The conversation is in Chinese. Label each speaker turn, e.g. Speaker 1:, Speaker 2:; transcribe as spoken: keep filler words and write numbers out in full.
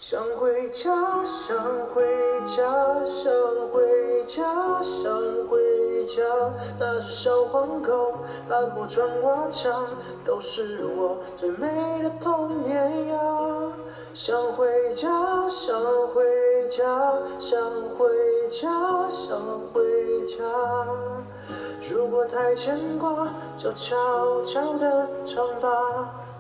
Speaker 1: 想回家，想回家，想回家，想回家。那只小黄狗，斑驳砖瓦墙，都是我最美的童年呀。想回家，想回家，想回家，想回家。如果太牵挂，就悄悄地唱吧。